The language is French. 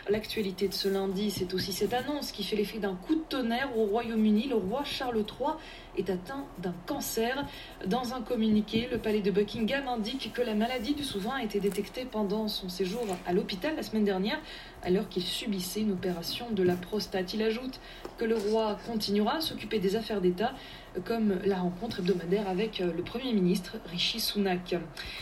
L'actualité de ce lundi, c'est aussi cette annonce qui fait l'effet d'un coup de tonnerre au Royaume-Uni. Le roi Charles III est atteint d'un cancer. Dans un communiqué, le palais de Buckingham indique que la maladie du souverain a été détectée pendant son séjour à l'hôpital la semaine dernière, alors qu'il subissait une opération de la prostate. Il ajoute que le roi continuera à s'occuper des affaires d'État, comme la rencontre hebdomadaire avec le Premier ministre Rishi Sunak.